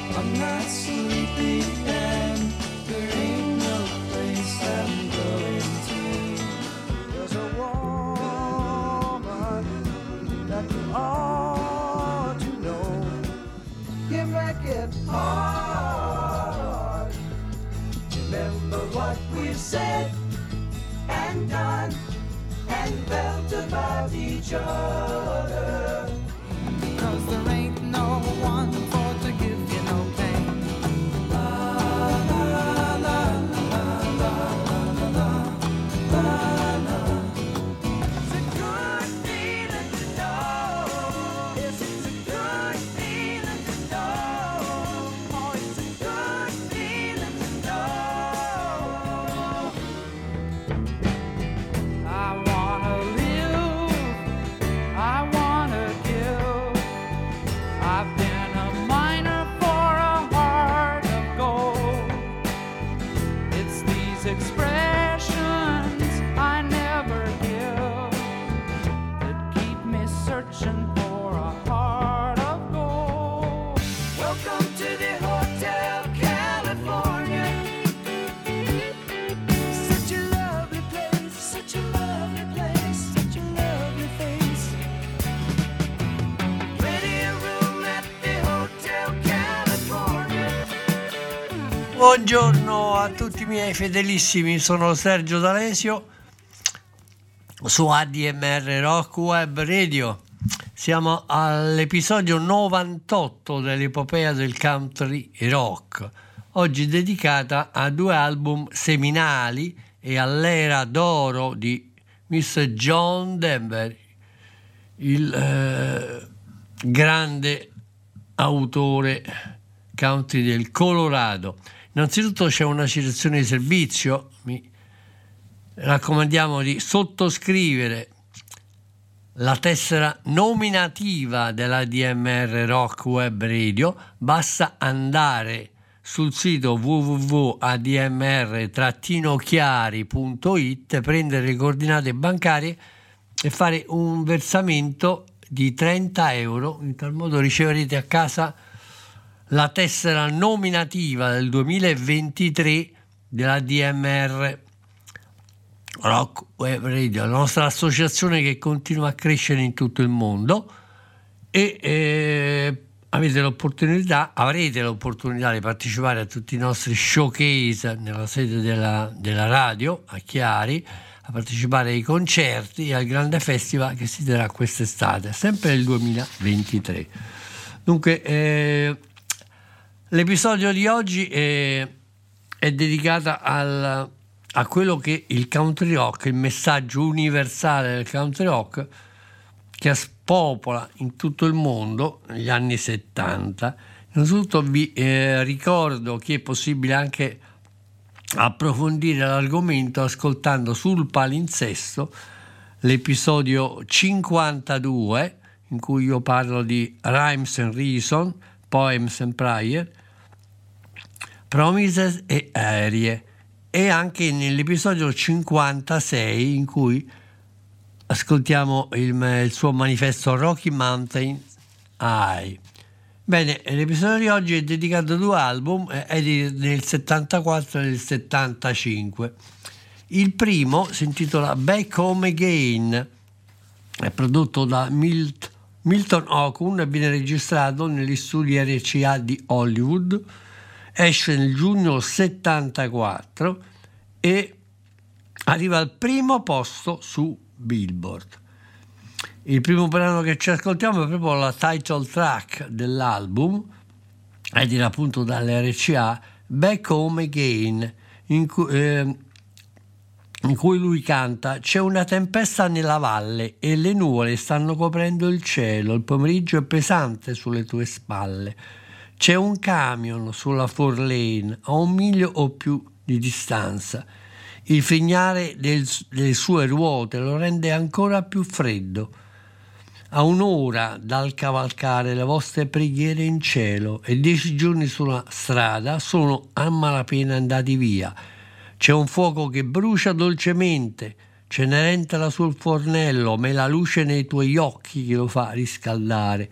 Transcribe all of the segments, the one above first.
I'm not sleepy and there ain't no place I'm going to. There's a woman that you ought to know. You make it hard. Remember what we've said and done and felt about each other. 'Cause there ain't no one for to give you no pain. La la la la la la la la. It's a good feeling to know. Yes, it's a good feeling to know. Oh, it's a good feeling to know. I wanna live, I wanna give. I've been a miner for a heart of gold. It's these expressions I never give that keep me searching for a heart of gold. Welcome to the Hotel California. Such a lovely place, such a lovely place, such a lovely face. Ready a room at the Hotel California. Buongiorno a tutti i miei fedelissimi, sono Sergio D'Alesio su ADMR Rock Web Radio. Siamo all'episodio 98 dell'epopea del country rock, oggi dedicata a due album seminali e all'era d'oro di Mr. John Denver, il grande autore country del Colorado. Innanzitutto c'è una citazione di servizio, mi raccomandiamo di sottoscrivere la tessera nominativa dell'ADMR Rock Web Radio. Basta andare sul sito www.admr-chiari.it, prendere le coordinate bancarie e fare un versamento di 30 euro. In tal modo riceverete a casa la tessera nominativa del 2023 della DMR Rock Web Radio, la nostra associazione che continua a crescere in tutto il mondo, e avrete l'opportunità di partecipare a tutti i nostri showcase nella sede della radio a Chiari, a partecipare ai concerti e al grande festival che si terrà quest'estate, sempre nel 2023. Dunque l'episodio di oggi è dedicato a quello che il country rock, il messaggio universale del country rock che spopola in tutto il mondo negli anni 70. Innanzitutto vi ricordo che è possibile anche approfondire l'argomento ascoltando sul palinsesto l'episodio 52, in cui io parlo di Rhymes and Reason, Poems and Prayer, Promises e Arie, e anche nell'episodio 56 in cui ascoltiamo il suo manifesto Rocky Mountain High. Bene, l'episodio di oggi è dedicato a due album, è del 74 e del 75. Il primo si intitola Back Home Again, è prodotto da Milton Okun e viene registrato negli studi RCA di Hollywood. Esce nel giugno 74 e arriva al primo posto su Billboard. Il primo brano che ci ascoltiamo è proprio la title track dell'album, ed era appunto dall'RCA, Back Home Again, in cui lui canta: c'è una tempesta nella valle e le nuvole stanno coprendo il cielo, il pomeriggio è pesante sulle tue spalle. C'è un camion sulla 4 lane a 1 miglio o più di distanza. Il frignare delle sue ruote lo rende ancora più freddo. A un'ora dal cavalcare le vostre preghiere in cielo e 10 giorni sulla strada sono a malapena andati via. C'è un fuoco che brucia dolcemente, cenerentola sul fornello, ma è la luce nei tuoi occhi che lo fa riscaldare.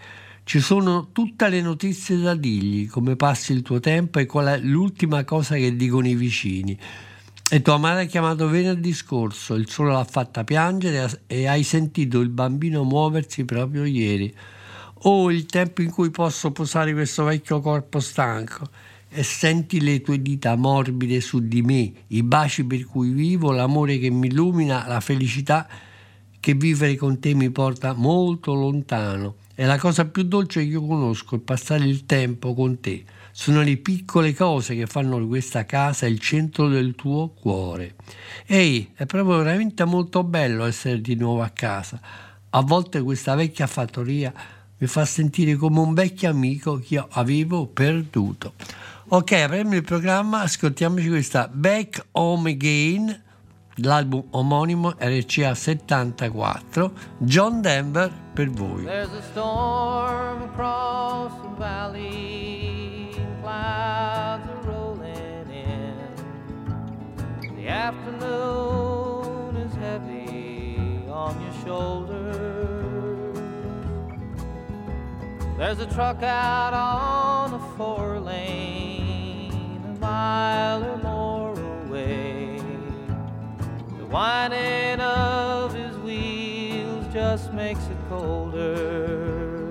Ci sono tutte le notizie da dirgli, come passi il tuo tempo e qual è l'ultima cosa che dicono i vicini. E tua madre ha chiamato venerdì scorso, il sole l'ha fatta piangere e hai sentito il bambino muoversi proprio ieri. Oh, il tempo in cui posso posare questo vecchio corpo stanco e senti le tue dita morbide su di me, i baci per cui vivo, l'amore che mi illumina, la felicità che vivere con te mi porta molto lontano. È la cosa più dolce che io conosco, è passare il tempo con te. Sono le piccole cose che fanno di questa casa il centro del tuo cuore. Ehi, è proprio veramente molto bello essere di nuovo a casa. A volte questa vecchia fattoria mi fa sentire come un vecchio amico che io avevo perduto. Ok, apriamo il programma, ascoltiamoci questa Back Home Again, l'album omonimo RCA 74, John Denver per voi. There's a storm across the valley, clouds are rolling in. The afternoon is heavy on your shoulders. There's a truck out on the 4-lane, a mile or more away. The whining of his wheels just makes it colder.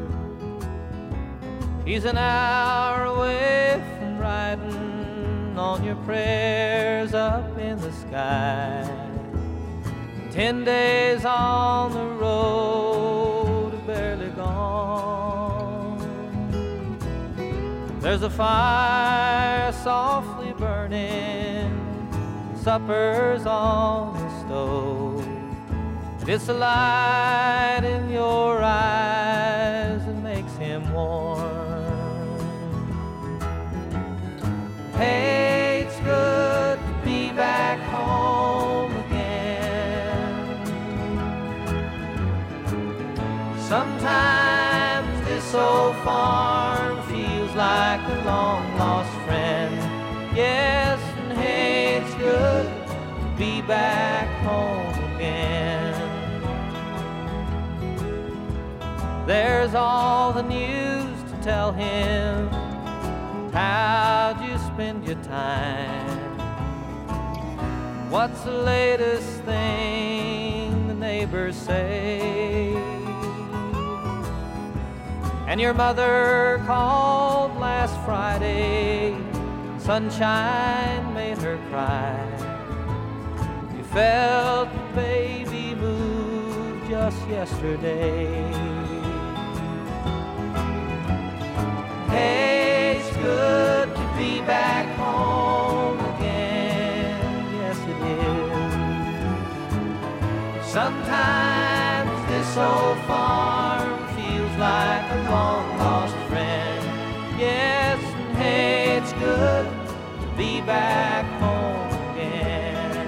He's an hour away from riding on your prayers up in the sky. 10 days on the road, barely gone. There's a fire softly burning, supper's on the stove. It's the light in your eyes that makes him warm. Hey, it's good to be back home again. Sometimes this old farm feels like a long-lost friend. Yes, and hey, it's good to be back home again. There's all the news to tell him. How'd you spend your time? What's the latest thing the neighbors say? And your mother called last Friday. Sunshine made her cry. You felt the baby move just yesterday. Hey, it's good to be back home again. Yes, it is. Sometimes this old farm feels like a long-lost friend. Yes, and hey, it's good to be back home again.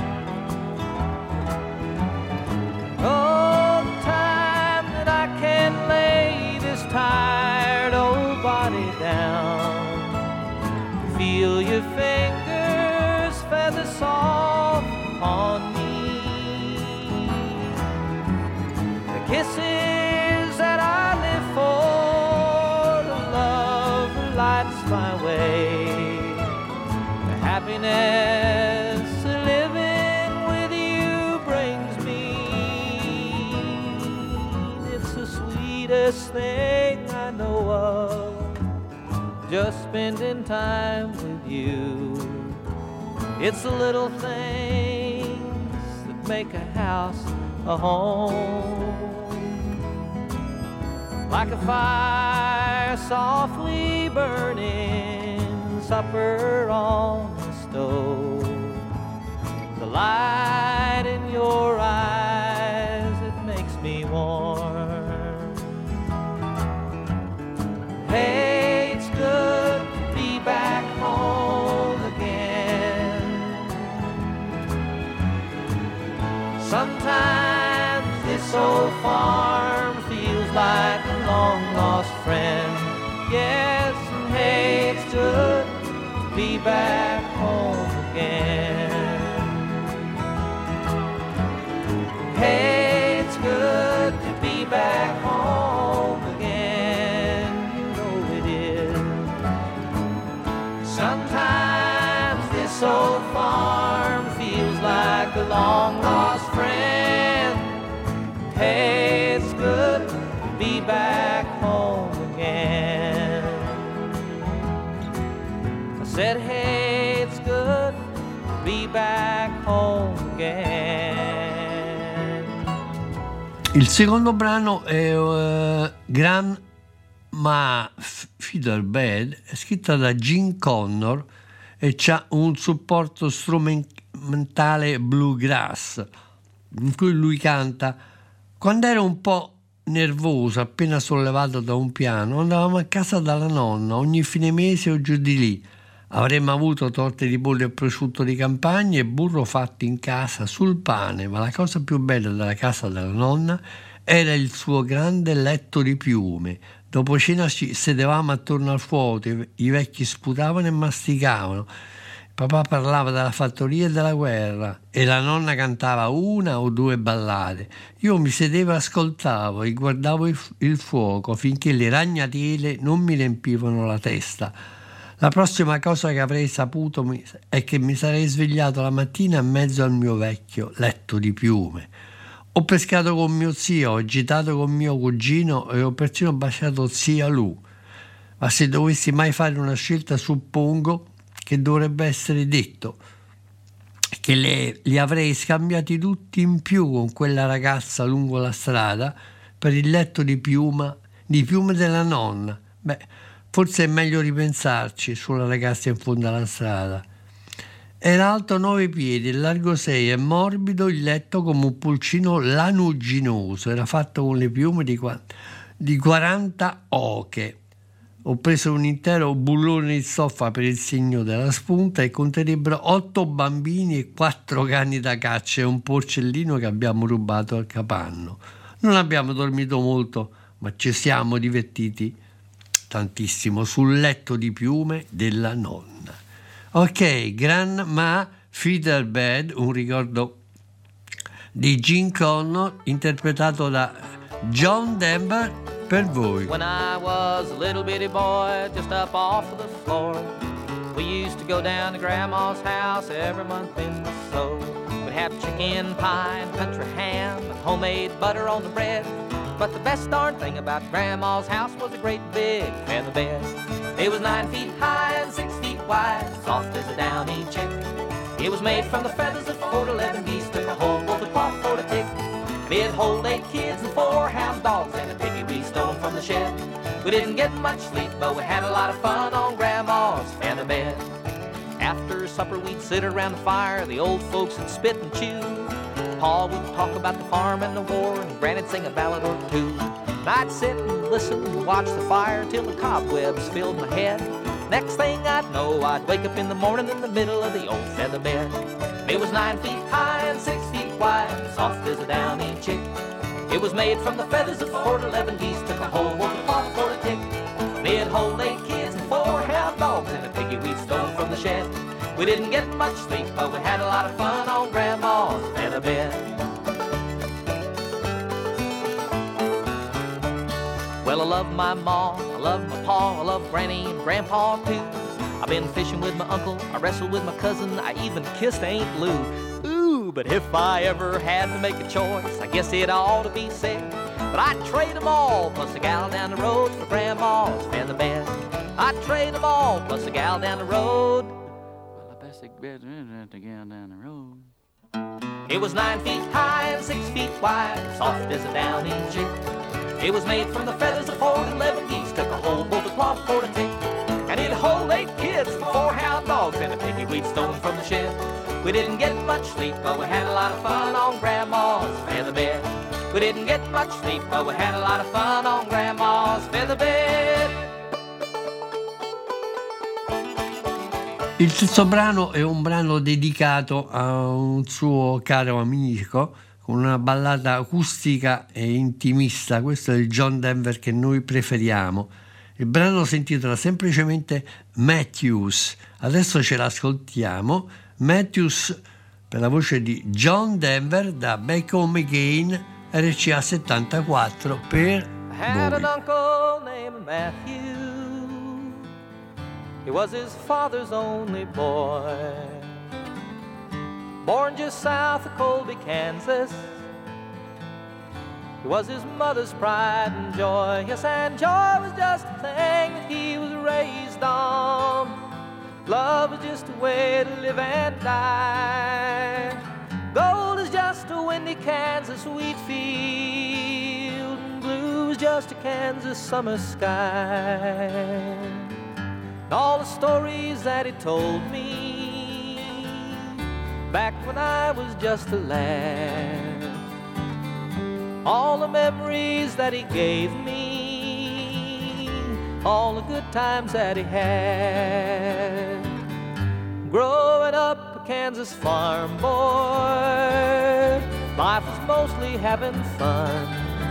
Oh, the time that I can lay this tired old body down, feel your fingers feather soft on me. The kisses that I live for, the love that lights my way, the happiness of living with you brings me. It's the sweetest thing I know of, just spending time with you. It's the little things that make a house a home. Like a fire softly burning, supper on the stove. The light in your eyes, it makes me warm. Hey, it's good to be back home again. Sometimes this old farm feels like a long-lost friend. Yes, and hey, it's good to be back home again. Hey, it's good to be back home again. This old farm feels like a long lost friend. Hey, it's good to be back home again. I said, hey, it's good to be back home again. Il secondo brano è Grandma Fiddlebed, è scritta da Gene Connor e c'ha un supporto strumentale bluegrass in cui lui canta: quando ero un po' nervoso, appena sollevato da un piano, andavamo a casa dalla nonna ogni fine mese o giù di lì. Avremmo avuto torte di pollo e prosciutto di campagna e burro fatto in casa sul pane, ma la cosa più bella della casa della nonna era il suo grande letto di piume. Dopo cena ci sedevamo attorno al fuoco, i vecchi sputavano e masticavano. Papà parlava della fattoria e della guerra e la nonna cantava una o due ballate. Io mi sedevo e ascoltavo e guardavo il fuoco finché le ragnatele non mi riempivano la testa. La prossima cosa che avrei saputo è che mi sarei svegliato la mattina in mezzo al mio vecchio letto di piume. Ho pescato con mio zio, ho agitato con mio cugino e ho persino baciato zia Lu. Ma se dovessi mai fare una scelta, suppongo che dovrebbe essere detto che li avrei scambiati tutti in più con quella ragazza lungo la strada per il letto di piume della nonna. Beh, forse è meglio ripensarci sulla ragazza in fondo alla strada. Era alto 9 piedi, largo 6 e morbido il letto come un pulcino lanuginoso. Era fatto con le piume di 40 oche. Ho preso un intero bullone di stoffa per il segno della spunta e conterrebbero 8 bambini e 4 cani da caccia e un porcellino che abbiamo rubato al capanno. Non abbiamo dormito molto, ma ci siamo divertiti tantissimo sul letto di piume della nonna. Ok, Grandma Fiddlebed, un ricordo di Gene Connor interpretato da John Denver per voi. When I was a little bitty boy just up off of the floor, we used to go down to Grandma's house every month in the snow. We'd have chicken pie and country ham and homemade butter on the bread. But the best darn thing about Grandma's house was a great big feather bed. It was 9 feet high and 6 feet wide, soft as a downy chick. It was made from the feathers of 4 to 11 geese, took a whole bolt of cloth for a tick. And it'd hold 8 kids and 4 hound dogs and a piggy we stole from the shed. We didn't get much sleep, but we had a lot of fun on Grandma's feather bed. After supper we'd sit around the fire, the old folks would spit and chew. Pa would talk about the farm and the war, and Granny'd sing a ballad or two. And I'd sit and listen and watch the fire till the cobwebs filled my head. Next thing I'd know, I'd wake up in the morning in the middle of the old feather bed. It was 9 feet high and 6 feet wide, soft as a downy chick. It was made from the feathers of 4 to 11 geese, took a whole wolf of cloth for a tick. It'd hold 8 kids and 4 hound dogs and a piggy we'd stolen from the shed. We didn't get much sleep, but we had a lot of fun on Grandma's feather bed. Well, I love my ma, I love my pa, I love Granny and Grandpa too. I've been fishing with my uncle, I wrestled with my cousin, I even kissed Aunt Lou. Ooh, but if I ever had to make a choice, I guess it ought to be said, but I'd trade them all, plus a gal down the road for Grandma's feather bed. I'd trade them all, plus a gal down the road. The gal down the road. It was 9 feet high and 6 feet wide, soft as a downy chick. It was made from the feathers of 4 to 11 geese, took a whole bolt of cloth for a tick. And it'd hold 8 kids, 4 hound dogs, and a piggy we'd stolen from the shed. We didn't get much sleep, but we had a lot of fun on Grandma's feather bed. We didn't get much sleep, but we had a lot of fun on Grandma's feather bed. Il terzo brano è un brano dedicato a un suo caro amico con una ballata acustica e intimista. Questo è il John Denver che noi preferiamo. Il brano si intitola semplicemente Matthews. Adesso ce l'ascoltiamo. Matthews per la voce di John Denver da Back Home Again, RCA 74 per I had voi. an uncle named Matthew. He was his father's only boy. born just south of Colby, Kansas. He was his mother's pride and joy. Yes, and joy was just a thing that he was raised on. Love was just a way to live and die. Gold is just a windy Kansas wheat field, and blue is just a Kansas summer sky. And all the stories that he told me back when I was just a lad, all the memories that he gave me, all the good times that he had. Growing up a Kansas farm boy, life was mostly having fun,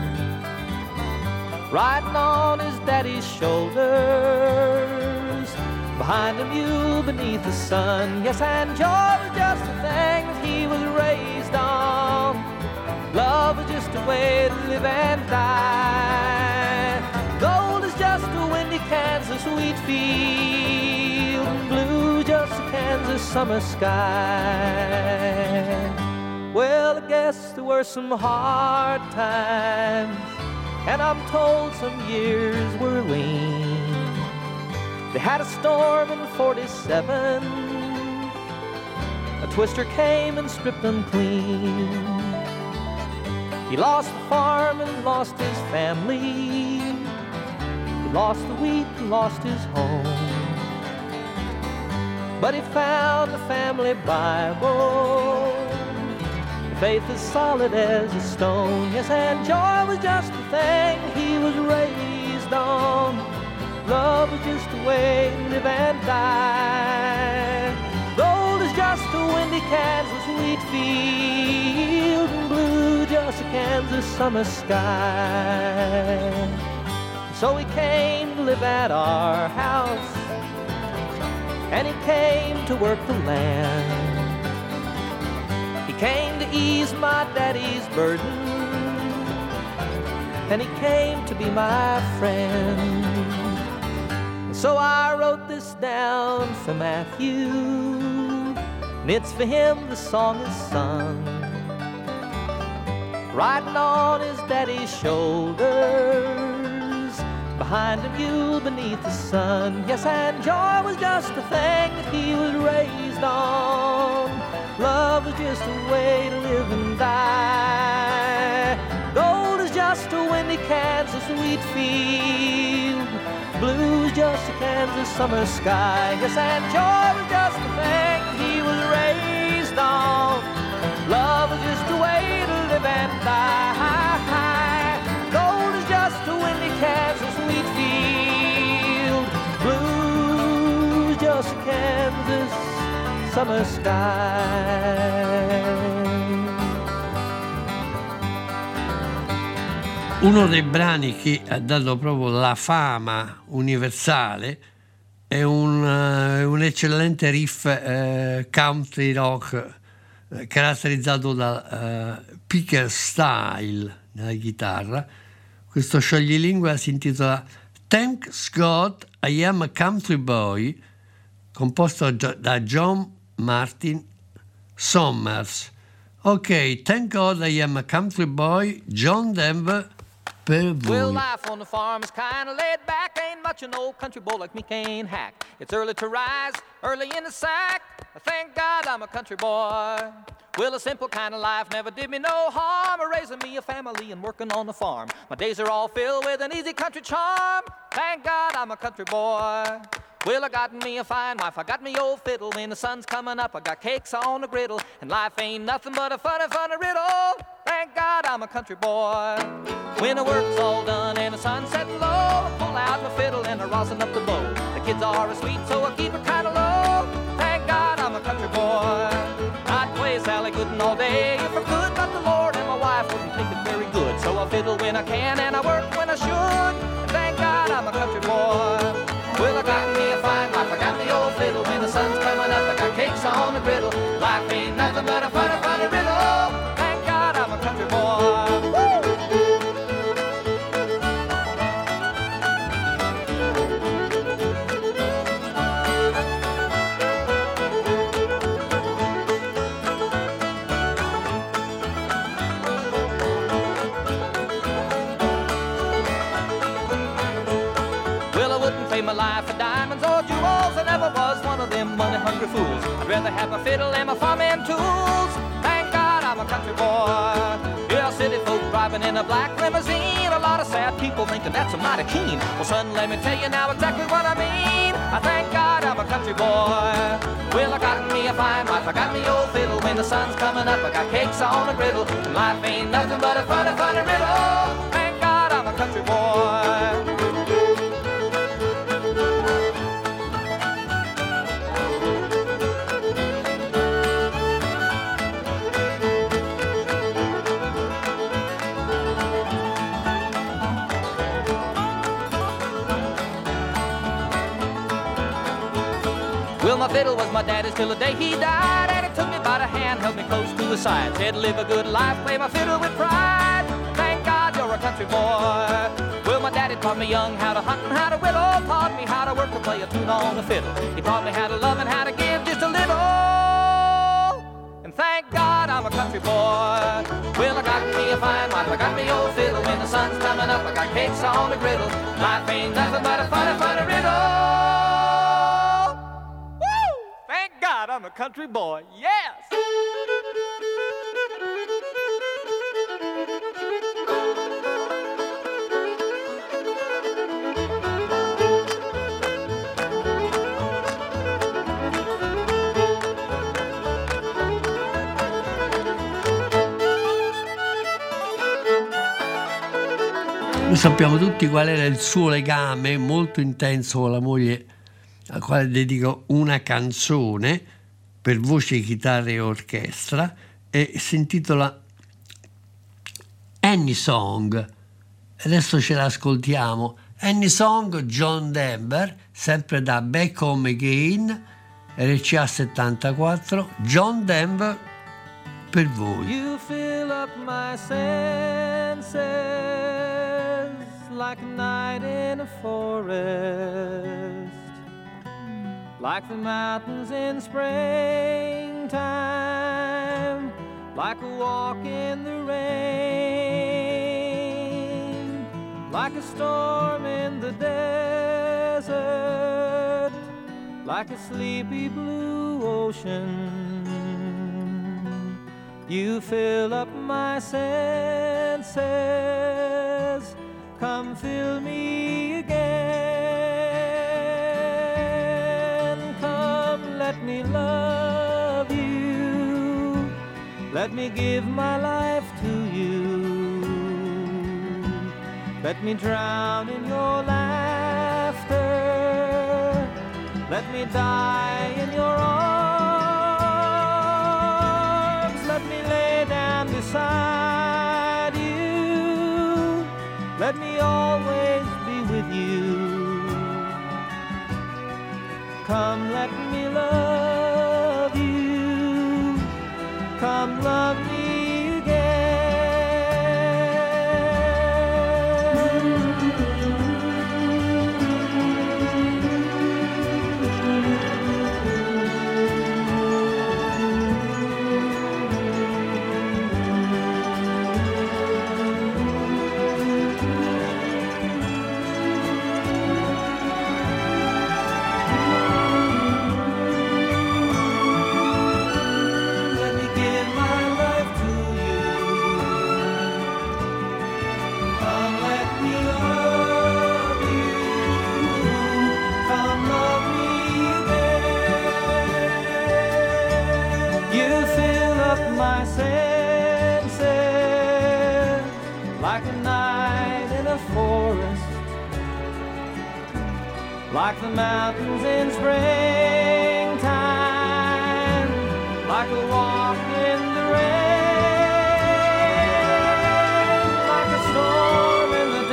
riding on his daddy's shoulders, behind a mule beneath the sun. Yes, and joy was just a thing that he was raised on. Love is just a way to live and die. Gold is just a windy Kansas wheat field, and blue just a Kansas summer sky. Well, I guess there were some hard times, and I'm told some years were lean. They had a storm in 47, a twister came and stripped them clean. He lost the farm and lost his family. He lost the wheat and lost his home. But he found the family Bible. The faith as solid as a stone. Yes, and joy was just the thing he was raised on. Love was just a way to live and die. Gold is just a windy Kansas wheat field, and blue just a Kansas summer sky. So he came to live at our house, and he came to work the land. He came to ease my daddy's burden, and he came to be my friend. So I wrote this down for Matthew, and it's for him the song is sung. Riding on his daddy's shoulders, behind a mule beneath the sun. Yes, and joy was just a thing that he was raised on. Love was just a way to live and die. Gold is just a windy Kansas wheat field, blue's just a Kansas summer sky. Yes, and joy was just the thing he was raised on. Love was just a way to live and die. Gold is just a windy Kansas wheat field, blue's just a Kansas summer sky. Uno dei brani che ha dato proprio la fama universale è un eccellente riff country rock caratterizzato da picker style nella chitarra. Questo scioglilingua si intitola Thank God I Am a Country Boy, composto da John Martin Sommers. Ok, Thank God I Am a Country Boy, John Denver. Well, life on the farm is kind of laid back. Ain't much an old country boy like me can't hack. It's early to rise, early in the sack. Thank God I'm a country boy. Well, a simple kind of life never did me no harm. Raising me a family and working on the farm. My days are all filled with an easy country charm. Thank God I'm a country boy. Well, I got me a fine wife, I got me old fiddle. When the sun's coming up, I got cakes on the griddle. And life ain't nothing but a funny, funny riddle. Thank God I'm a country boy. When the work's all done and the sun's setting low, I pull out my fiddle and I rosin up the bow. The kids are asleep, so I keep it kind of low. Thank God I'm a country boy. I'd play Sally Gooden all day if I could, but the Lord and my wife wouldn't think it very good. So I fiddle when I can and I work when I should. And thank God I'm a country boy. Well, I got me a fine wife, I got the old fiddle. When the sun's coming up, I got cakes on the griddle. Life ain't nothing but a funny, funny riddle. Thank God I'm a country boy. diamonds or jewels. I never was one of them money-hungry fools. I'd rather have my fiddle and my farming tools. Thank God I'm a country boy. Yeah, city folk driving in a black limousine. A lot of sad people thinking that's a mighty keen. Well, son, let me tell you now exactly what I mean. I thank God I'm a country boy. Well, I got me a fine wife, I got me old fiddle. When the sun's coming up, I got cakes on a griddle. And life ain't nothing but a funny, funny riddle. Thank God I'm a country boy. Well, my fiddle was my daddy's till the day he died, and he took me by the hand, held me close to his side, said live a good life, play my fiddle with pride. Thank God you're a country boy. Well, my daddy taught me young how to hunt and how to whittle, taught me how to work to play a tune on the fiddle. He taught me how to love and how to give just a little. And thank God I'm a country boy. Well, I got me a fine wife, I got me old fiddle. When the sun's coming up, I got cakes on the griddle. Life ain't nothing but a funny, funny riddle. God, I'm a country boy, yes! Noi sappiamo tutti qual era il suo legame molto intenso con la moglie, al quale dedico una canzone per voce, chitarra e orchestra, e si intitola Any Song. Adesso ce l'ascoltiamo. Any Song, John Denver, sempre da Back Home Again, RCA 74, John Denver per voi. You fill up my senses like a night in a forest, like the mountains in springtime, like a walk in the rain, like a storm in the desert, like a sleepy blue ocean. You fill up my senses, come fill me again. Come, let me love you, let me give my life to you. Let me drown in your laughter, let me die in your arms. Let me lay down beside you, let me always be with you. Come, let me love you, come love me like the mountains in springtime, like a walk in the rain, like a storm in the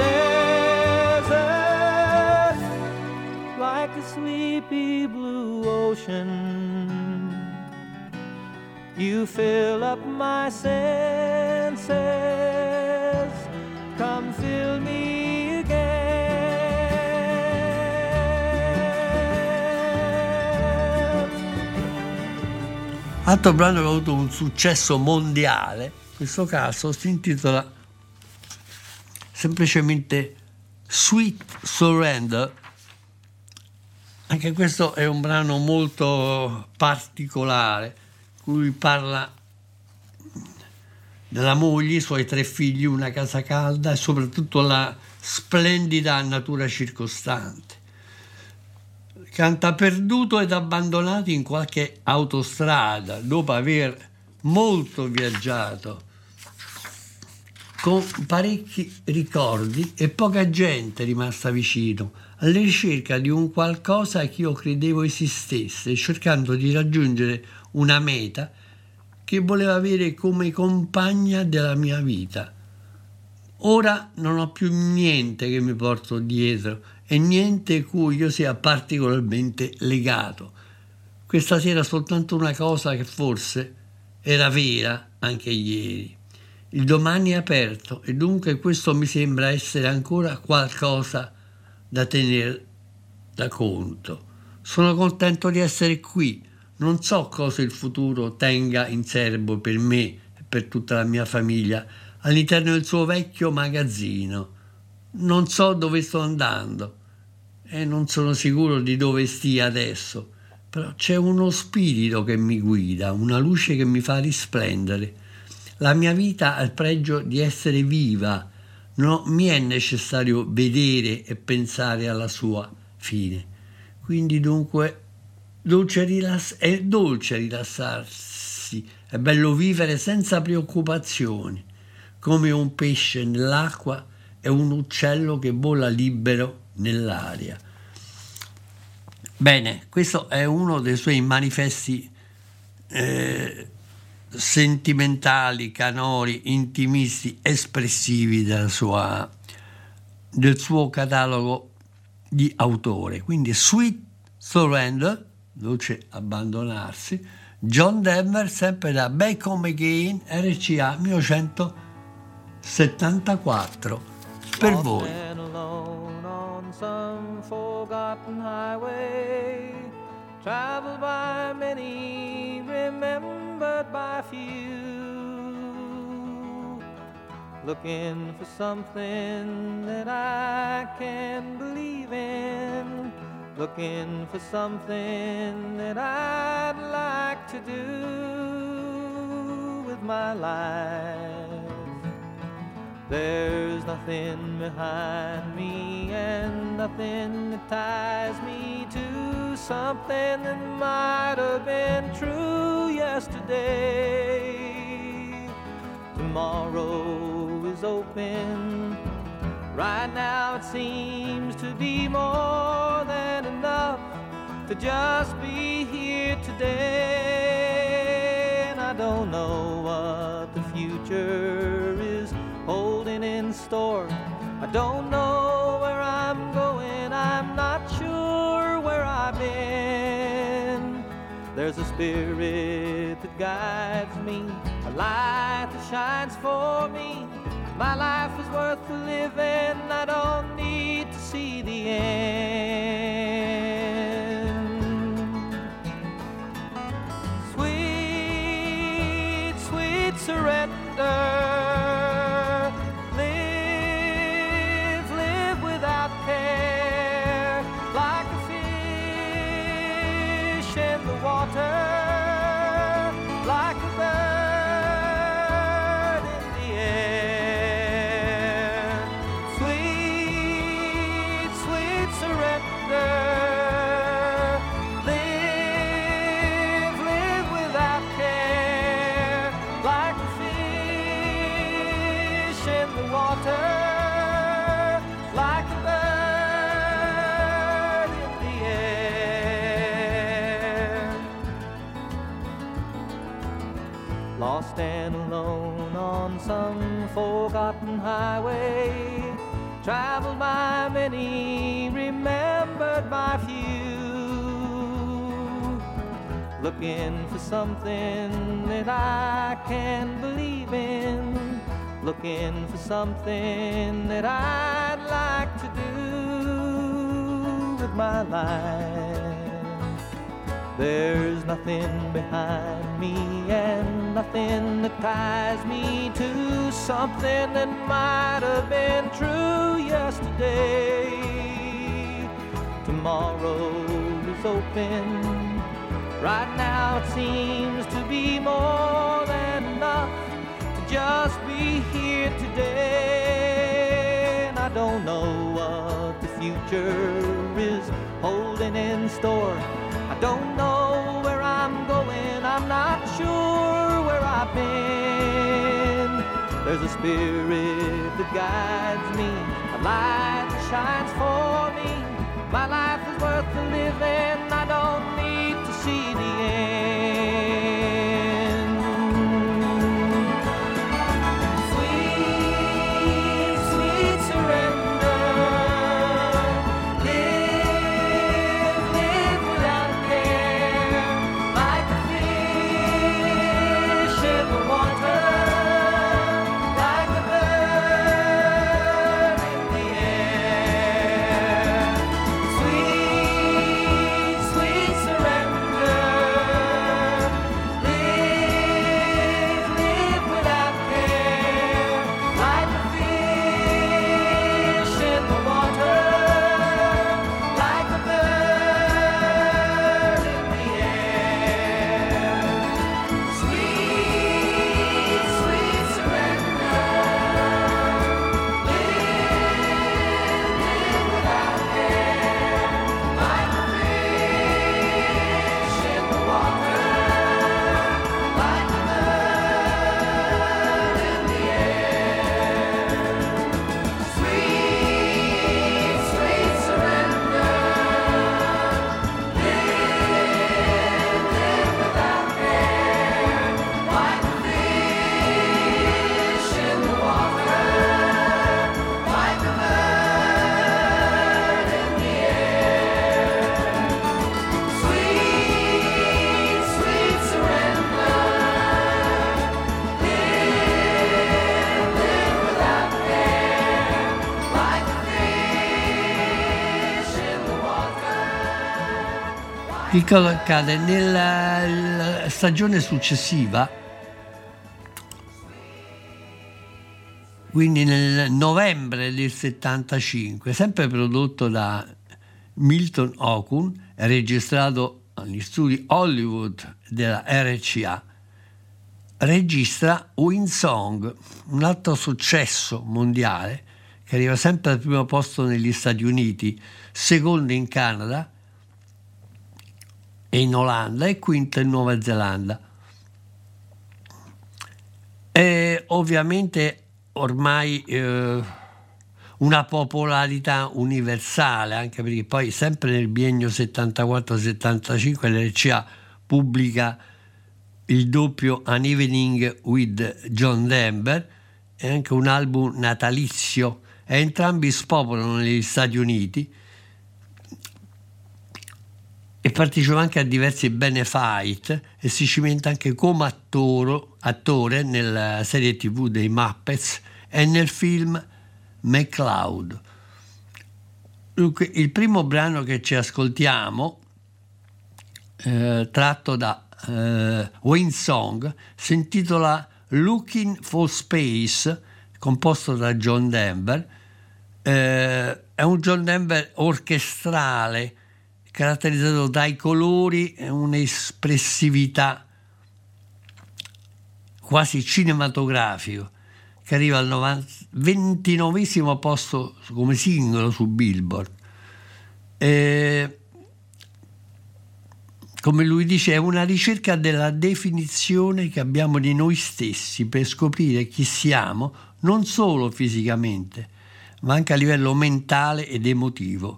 desert, like a sleepy blue ocean. You fill up my senses, come fill me again. Altro brano che ha avuto un successo mondiale, in questo caso si intitola semplicemente Sweet Surrender, Anche questo è un brano molto particolare, cui parla della moglie, i suoi 3 figli, una casa calda e soprattutto la splendida natura circostante. Canta perduto ed abbandonato in qualche autostrada, dopo aver molto viaggiato, con parecchi ricordi e poca gente rimasta vicino, alla ricerca di un qualcosa che io credevo esistesse, cercando di raggiungere una meta che volevo avere come compagna della mia vita. Ora non ho più niente che mi porto dietro e niente cui io sia particolarmente legato. Questa sera soltanto una cosa che forse era vera anche ieri. Il domani è aperto e dunque questo mi sembra essere ancora qualcosa da tenere da conto. Sono contento di essere qui. Non so cosa il futuro tenga in serbo per me e per tutta la mia famiglia all'interno del suo vecchio magazzino. Non so dove sto andando e non sono sicuro di dove stia adesso, però c'è uno spirito che mi guida, una luce che mi fa risplendere. La mia vita ha il pregio di essere viva, non mi è necessario vedere e pensare alla sua fine. Quindi dunque è dolce rilassarsi, è bello vivere senza preoccupazioni, come un pesce nell'acqua e un uccello che vola libero nell'aria. Bene, questo è uno dei suoi manifesti sentimentali, canori, intimisti, espressivi del suo catalogo di autore. Quindi Sweet Surrender, dolce abbandonarsi, John Denver, sempre da Back Home Again, RCA 1974, per voi. Traveled by many, remembered by few, looking for something that I can believe in, looking for something that I'd like to do with my life. There's nothing behind me and nothing that ties me to something that might have been true yesterday. Tomorrow is open. Right now it seems to be more than enough to just be here today. And I don't know what the future is holding in store. I don't know where I'm going, I'm not sure where I've been. There's a spirit that guides me, a light that shines for me. My life is worth living, I don't need to see the end. Sweet, sweet surrender. Like a bird in the air, sweet, sweet surrender. Live, live without care, like a fish in the water, like a bird in the air. Lost and alone on some forgotten highway, traveled by many, remembered by few, looking for something that I can believe in, looking for something that I'd like to do with my life. There's nothing behind me and nothing that ties me to something that might have been true yesterday. Tomorrow eyes open. Right now it seems to be more than enough to just be here today. And I don't know what the future is holding in store. I don't know where I'm going, I'm not sure where I've been. There's a spirit that guides me, a light that shines for me. My life is worth the living, I don't need to see the end. Sweet, sweet surrender. Live, live without care, like a fish in the water, like a bird in the air. Sweet, sweet surrender. Live, live without care, like a fish in the water, like a bird in the air. Sweet, sweet surrender. Live, live without care, like a fish in the water, like a bird in the air. Sweet, sweet surrender. Live, live without care, like a fish in the water, like a bird in the air. Sweet, sweet surrender. Live, live without care, like a fish in the water. Che cosa accade? Nella stagione successiva, quindi nel novembre del 75, sempre prodotto da Milton Okun e registrato agli studi Hollywood della RCA, registra Wind Song, un altro successo mondiale che arriva sempre al primo posto negli Stati Uniti, secondo in Canada e in Olanda e quinto in Nuova Zelanda. E ovviamente ormai una popolarità universale, anche perché poi sempre nel biennio 74-75 l'RCA pubblica il doppio An Evening with John Denver e anche un album natalizio, e entrambi spopolano negli Stati Uniti e partecipa anche a diversi benefit e si cimenta anche come attore nella serie TV dei Muppets e nel film McCloud. Dunque, il primo brano che ci ascoltiamo, tratto da Wind Song, si intitola Looking for Space, composto da John Denver. È un John Denver orchestrale, caratterizzato dai colori e un'espressività quasi cinematografico, che arriva al 29esimo posto come singolo su Billboard. Come lui dice, è una ricerca della definizione che abbiamo di noi stessi per scoprire chi siamo, non solo fisicamente, ma anche a livello mentale ed emotivo.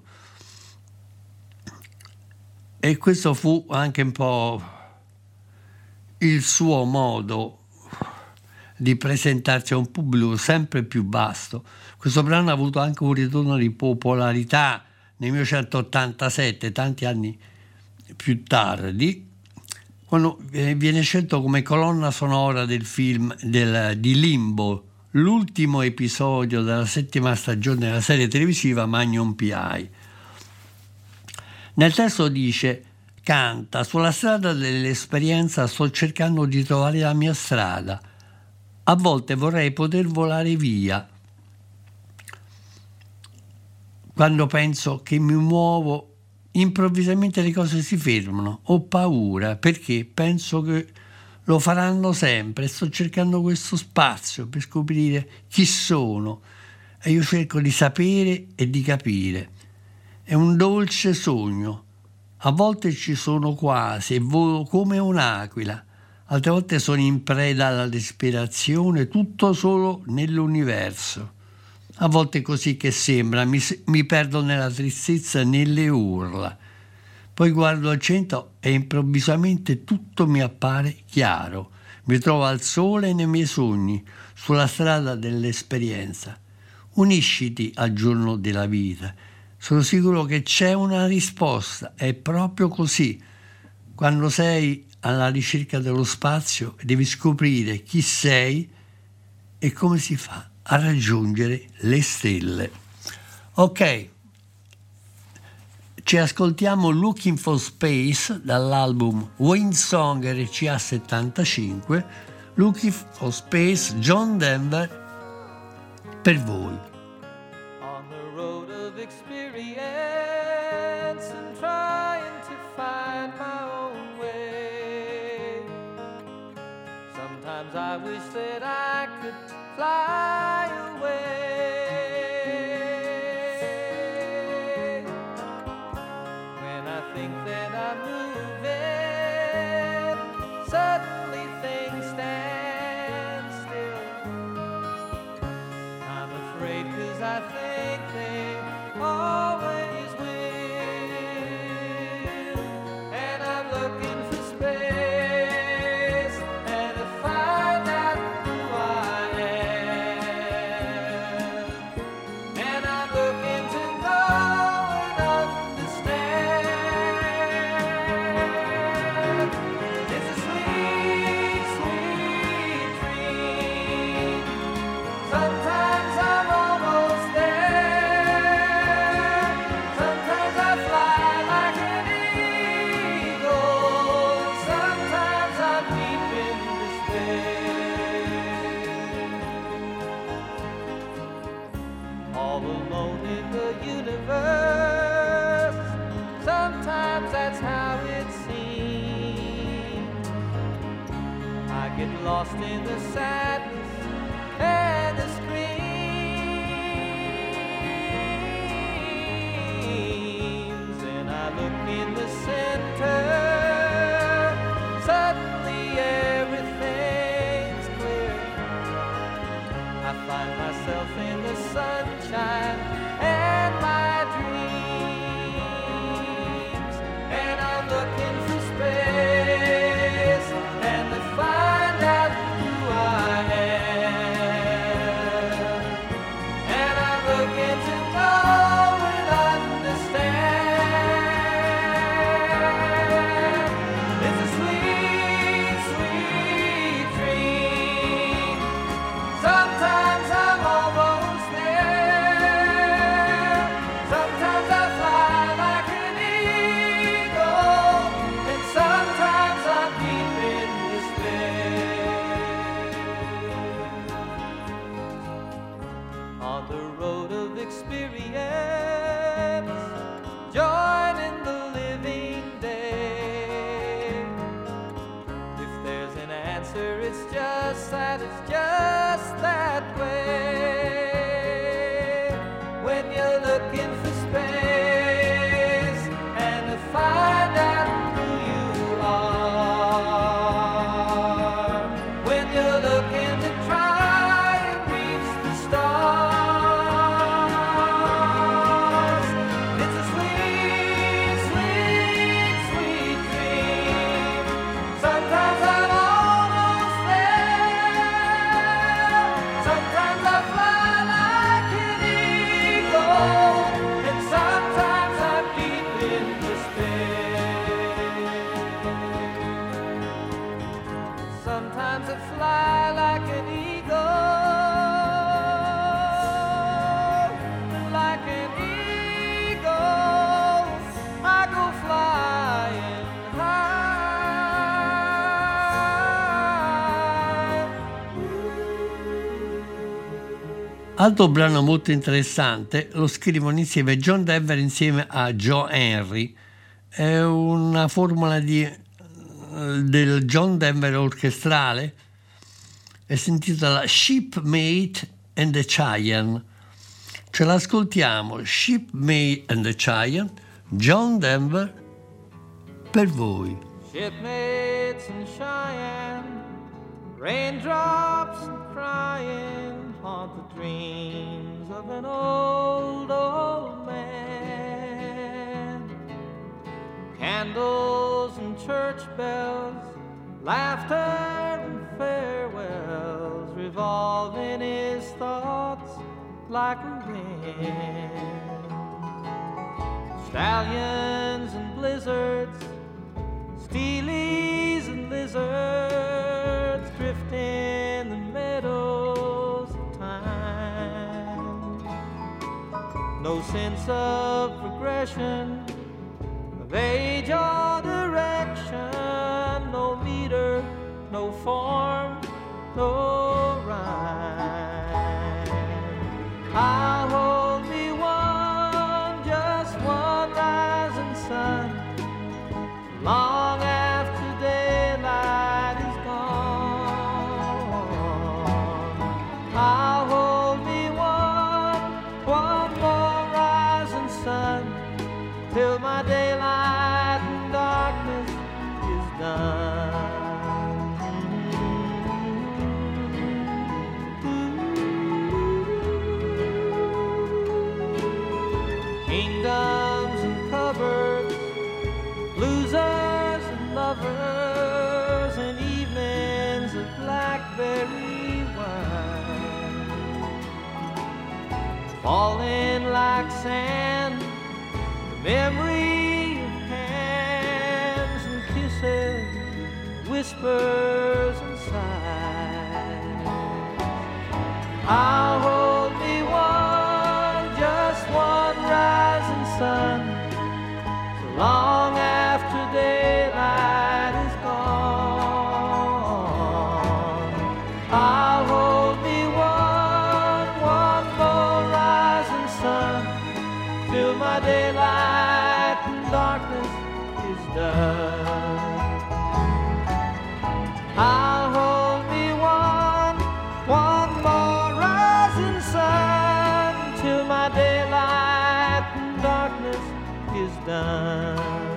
E questo fu anche un po' il suo modo di presentarsi a un pubblico sempre più vasto. Questo brano ha avuto anche un ritorno di popolarità nel 1987, tanti anni più tardi, quando viene scelto come colonna sonora del film di Limbo, l'ultimo episodio della 7ª stagione della serie televisiva Magnum P.I. Nel testo dice: canta, sulla strada dell'esperienza sto cercando di trovare la mia strada, a volte vorrei poter volare via, quando penso che mi muovo improvvisamente le cose si fermano, ho paura perché penso che lo faranno sempre e sto cercando questo spazio per scoprire chi sono e io cerco di sapere e di capire. È un dolce sogno, a volte ci sono quasi e volo come un'aquila, altre volte sono in preda alla disperazione, tutto solo nell'universo. A volte è così che sembra, mi perdo nella tristezza e nelle urla. Poi guardo al centro e improvvisamente tutto mi appare chiaro. Mi trovo al sole nei miei sogni, sulla strada dell'esperienza. Unisciti al giorno della vita. Sono sicuro che c'è una risposta, è proprio così. Quando sei alla ricerca dello spazio devi scoprire chi sei e come si fa a raggiungere le stelle. Ok, ci ascoltiamo Looking for Space dall'album Windsong RCA 75, Looking for Space, John Denver, per voi. On the road of experience and trying to find my own way. Sometimes I wish that I could fly away. When I think that I'm moving, suddenly things stand still. I'm afraid 'cause I think they always will. And I'm looking for space and to find out who I am. And I'm looking to know and understand. It's a sweet, sweet dream. Sometimes I'm almost there. Sometimes I fly like an eagle. Sometimes I'm deep in despair. All alone in the universe. Sometimes that's how it seems. I get lost in the sadness and the screams, and I look in the center. Suddenly everything's clear. I find myself in the sunshine and my dreams, and I'm looking for space and to find out who I am. And I'm looking to know and understand. It's a sweet, sweet dream. Sometimes I'm almost there. Sometimes I fly like an eagle, and sometimes I'm deep in despair. On the road of experience, joining the living day. If there's an answer, it's just that way. When you're looking for space and to find out who you are. When you're looking to try and reach the stars. It's a sweet, sweet, sweet dream. Sometimes I'm almost there. Sometimes I fly like an eagle. Altro brano molto interessante lo scrivono insieme John Denver insieme a Joe Henry. È una formula del John Denver orchestrale e si intitola Shipmate and the Giant. Ce l'ascoltiamo, Shipmate and the Giant, John Denver per voi. Shipmates and Cheyenne, raindrops and crying haunt the dreams of an old, old man. Candles and church bells, laughter and farewells revolve in his thoughts like a wind. Stallions and blizzards, steelies and lizards drift in the meadows of time. No sense of progression, of age or direction, no meter, no form, no rhyme. I'll hold me one, just one rising sun, long after daylight is gone. I'll hold me one more rising sun, till my daylight and darkness is done. Kingdoms and cupboards, losers and lovers, and evenings of blackberry wine, falling like sand, the memory of hands and kisses, whispers and sighs. I'll hold me one, just one rising sun, so long after daylight is gone. I'll hold me one more rising sun, till my daylight and darkness is done. I'll hold me one more rising sun, till my daylight and darkness is done.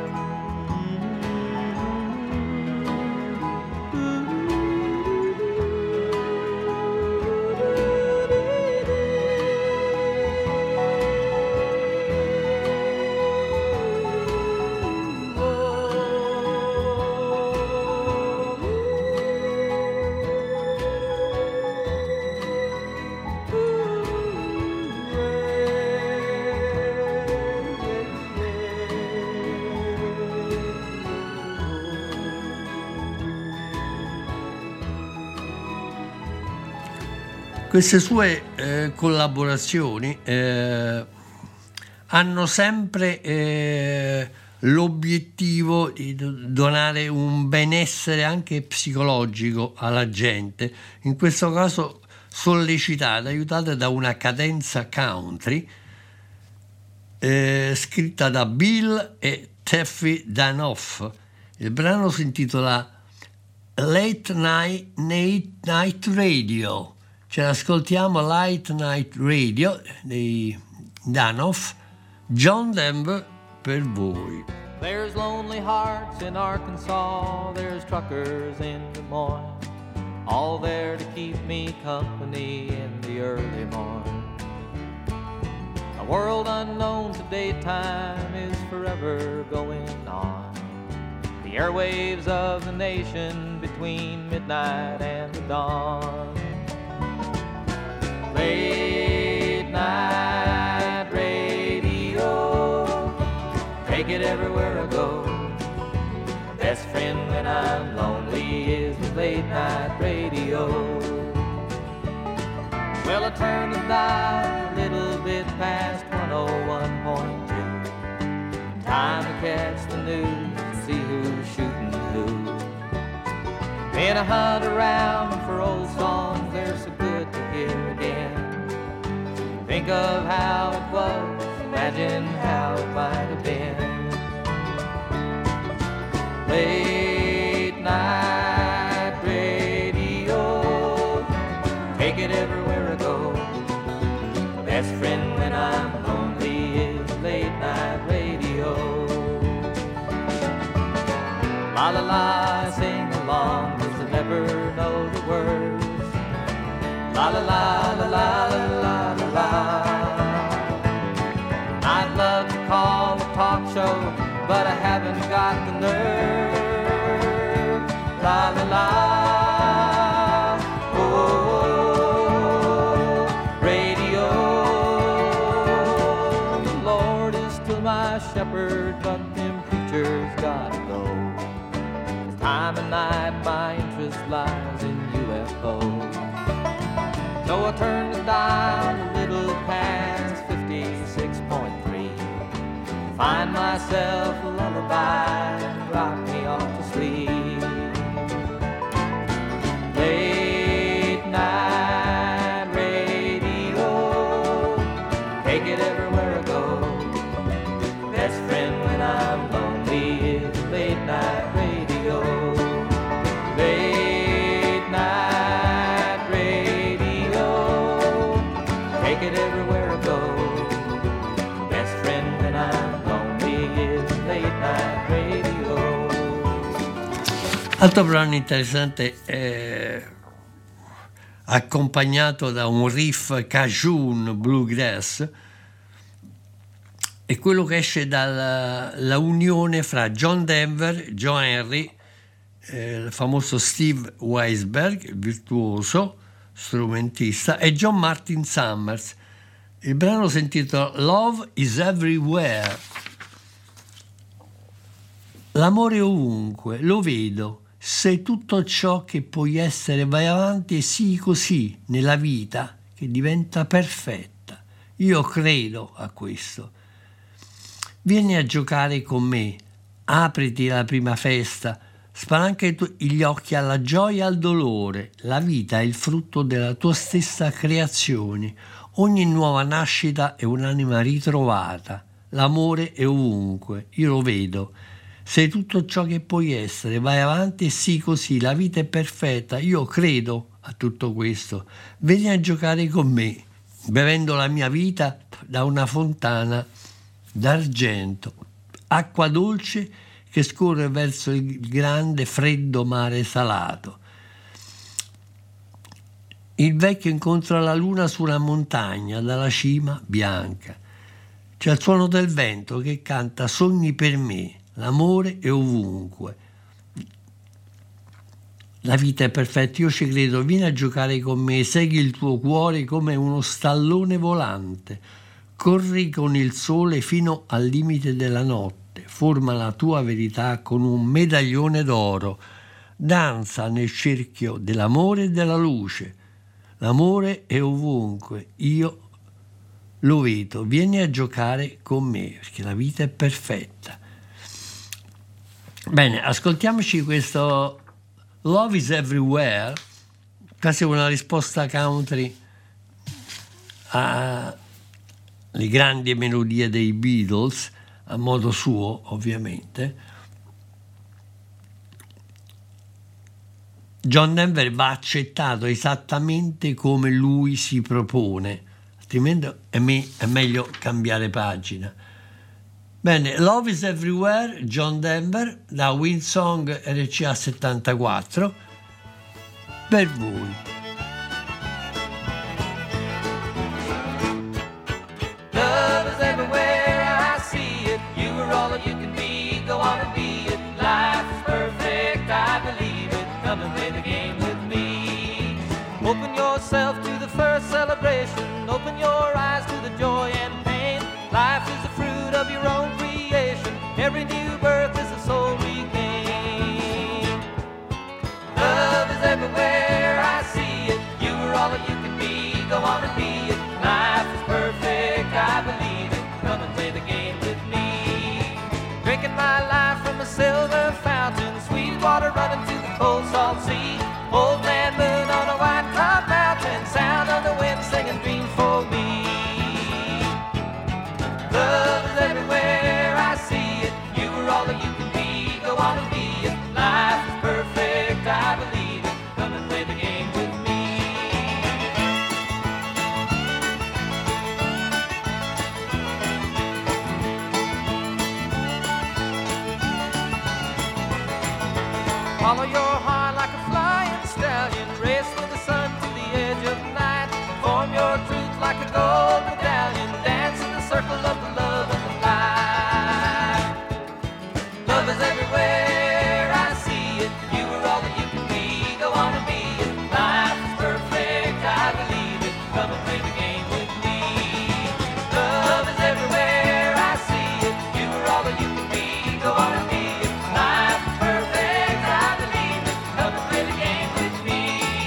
Queste sue collaborazioni hanno sempre l'obiettivo di donare un benessere anche psicologico alla gente, in questo caso sollecitate, aiutate da una cadenza country scritta da Bill e Taffy Danoff. Il brano si intitola Late Night Radio. Ce l'ascoltiamo, Late Night Radio dei Danoff, John Denver per voi. There's lonely hearts in Arkansas, there's truckers in Des Moines, all there to keep me company in the early morn. A world unknown to daytime is forever going on, the airwaves of the nation between midnight and the dawn. Late night radio, take it everywhere I go. My best friend when I'm lonely is the late night radio. Well, I turn the dial a little bit past 101.2. Time to catch the news and see who's shooting who. Then I hunt around for old songs they're so good to hear again. think of how it was, imagine how it might have been. Late night radio, take it everywhere I go. My best friend when I'm lonely is late night radio. La la la, sing along, 'cause I never know the words. La la la la la la la la la. I'd love to call a talk show, but I haven't got the nerve. La la la. Oh, radio. The Lord is still my shepherd, but them preachers gotta go. Time and night my interest lies in UFOs. So I turned the dial a little past 56.3. Find myself a lullaby and rock me off to sleep. Late night radio, take it everywhere I go. Best friend when I'm lonely is late night radio. Late night radio, take it everywhere I go. Best friend when I'm lonely is late night radio. Altro brano interessante, accompagnato da un riff cajun bluegrass, è quello che esce dalla unione fra John Denver, Joe Henry, il famoso Steve Weisberg, virtuoso strumentista, e John Martin Summers. Il brano si intitola Love is Everywhere. L'amore è ovunque, lo vedo. Sei tutto ciò che puoi essere, vai avanti e sii così nella vita che diventa perfetta. Io credo a questo. Vieni a giocare con me, apriti alla prima festa, spalanca gli occhi alla gioia e al dolore. La vita è il frutto della tua stessa creazione. Ogni nuova nascita è un'anima ritrovata. L'amore è ovunque, io lo vedo. Sei tutto ciò che puoi essere, vai avanti e sii così, la vita è perfetta, io credo a tutto questo. Vieni a giocare con me, bevendo la mia vita da una fontana d'argento, acqua dolce che scorre verso il grande freddo mare salato. Il vecchio incontra la luna su una montagna dalla cima bianca. C'è il suono del vento che canta sogni per me. L'amore è ovunque. La vita è perfetta, io ci credo, vieni a giocare con me, segui il tuo cuore come uno stallone volante, corri con il sole fino al limite della notte, forma la tua verità con un medaglione d'oro, danza nel cerchio dell'amore e della luce. L'amore è ovunque, io lo vedo, vieni a giocare con me, perché la vita è perfetta. Bene, ascoltiamoci questo Love is Everywhere, quasi una risposta country alle grandi melodie dei Beatles, a modo suo ovviamente. John Denver va accettato esattamente come lui si propone, altrimenti è meglio cambiare pagina. Bene, Love is Everywhere, John Denver, da Windsong RCA 74, per voi. Love is everywhere, I see it. You are all that you can be, go on and be it. Life is perfect, I believe it. Come and play the game with me. Open yourself to the first celebration. Open your eyes to the joy and pain. Life is the fruit of your own creation. Every new birth is a soul regained. Love is everywhere, I see it. You are all that you can be, go on and be it. Life is perfect, I believe it. Come and play the game with me. Drinking my life from a silver fountain, sweet water running to the cold salt sea. Old man moon on a white cloud mountain, wanna be it. Life is perfect, I believe it. Come and play the game with me. Follow your heart like a flying stallion. Race with the sun to the edge of night. Form your truth like a gold medallion. Dance in the circle of the love and the light. Love is everywhere, I see it. You are all that you can be, go on and be it. Life is perfect, I believe it. Come and play the game with me. Love is everywhere, I see it. You are all that you can be, go on and be it. Life is perfect, I believe it. Come and play the game with me.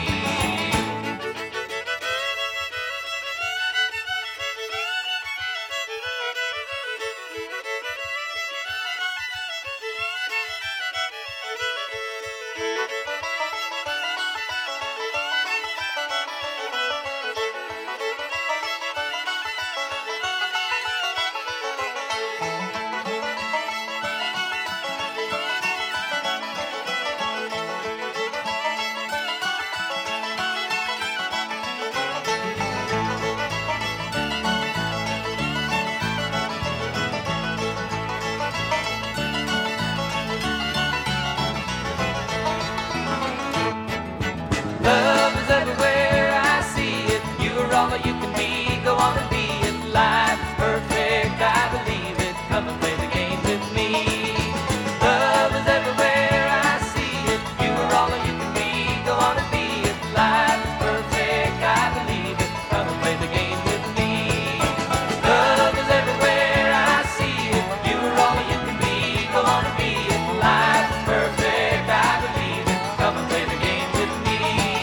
Love is everywhere, I see it. You are all that you can be, go on and be it. Life is perfect, I believe it. Come and play the game with me. Love is everywhere, I see it. You are all that you can be, go on and be it. Life is perfect, I believe it. Come and play the game with me. Love is everywhere, I see it. You are all that you can be, go on and be it. Life is perfect, I believe it. Come and play the game with me.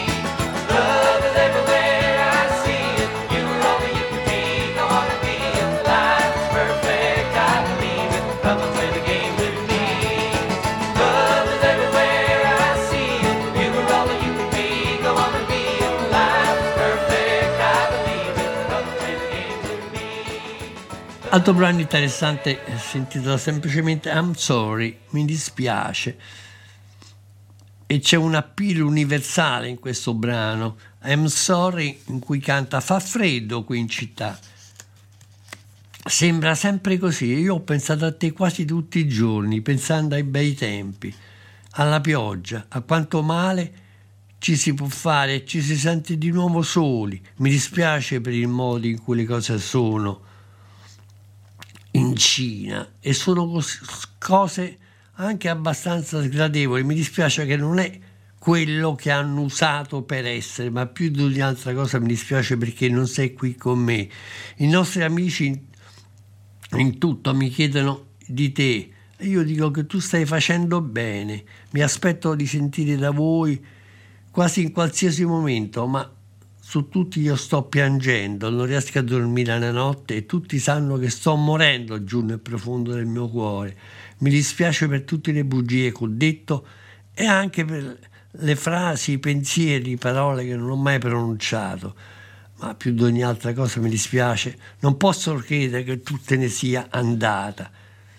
Love is everywhere, I see it. You are all that you can be, go on and be it. Life is perfect, I believe it. Come and play the game with me. Love is everywhere, I see it. You are all that you can be, go on and be it. Life is perfect, I believe it. Come and play the game with me. Altro brano interessante si intitola semplicemente I'm Sorry, mi dispiace. E c'è un appeal universale in questo brano, I'm Sorry, in cui canta fa freddo qui in città. Sembra sempre così, io ho pensato a te quasi tutti i giorni, pensando ai bei tempi, alla pioggia, a quanto male ci si può fare e ci si sente di nuovo soli. Mi dispiace per il modo in cui le cose sono in Cina e sono cose anche abbastanza sgradevoli. Mi dispiace che non è quello che hanno usato per essere, ma più di ogni altra cosa mi dispiace perché non sei qui con me. I nostri amici in tutto mi chiedono di te e io dico che tu stai facendo bene, mi aspetto di sentire da voi quasi in qualsiasi momento, ma su tutti io sto piangendo, non riesco a dormire la notte e tutti sanno che sto morendo giù nel profondo del mio cuore. Mi dispiace per tutte le bugie che ho detto e anche per le frasi, i pensieri, le parole che non ho mai pronunciato, ma più di ogni altra cosa mi dispiace, non posso credere che tu te ne sia andata.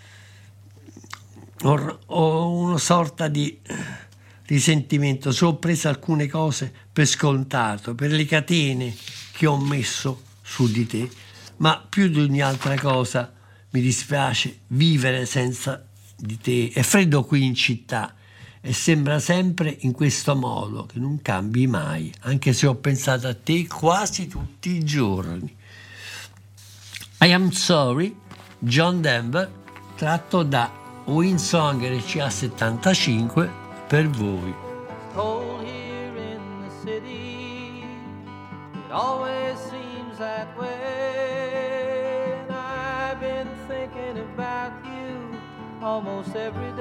Ho una sorta di risentimento, se ho preso alcune cose per scontato, per le catene che ho messo su di te, ma più di ogni altra cosa mi dispiace vivere senza di te. È freddo qui in città e sembra sempre in questo modo, che non cambi mai, anche se ho pensato a te quasi tutti i giorni. I Am Sorry, John Denver, tratto da Windsong RCA 75 per voi. Cold here in the city, it always seems that way, and I've been thinking about you almost every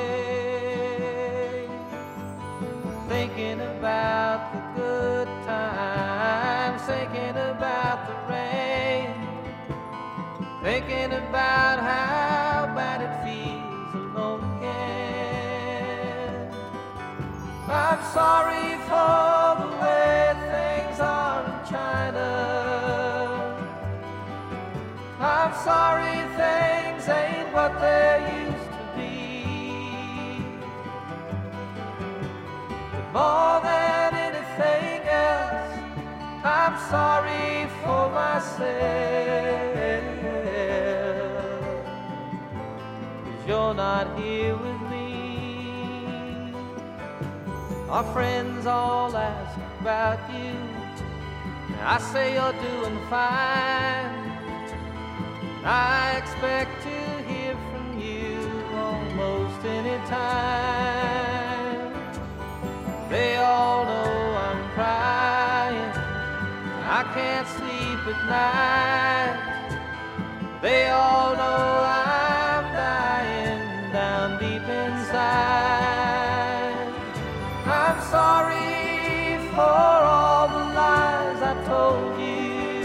day, thinking about the good times, thinking about the rain, thinking about how bad it feels alone again. I'm sorry for the way things are in China. I'm sorry things ain't what they used to be. More than anything else, I'm sorry for myself, 'cause you're not here with me. Our friends all ask about you, I say you're doing fine. I expect to hear from you almost any time. They all know I'm crying, I can't sleep at night. They all know I'm dying down deep inside. I'm sorry for all the lies I told you.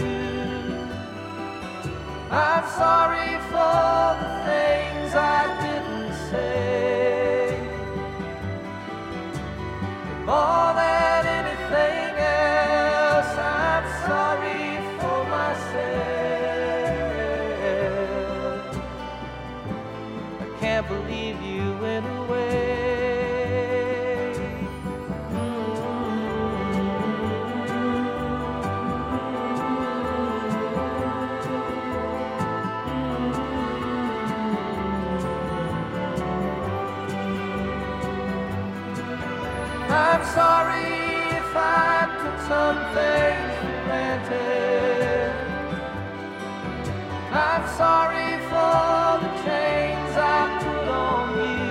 I'm sorry for the things I didn't say. More than anything else, I'm sorry for myself. I can't believe you went away. I'm sorry if I took some things for granted. I'm sorry for the chains I put on you.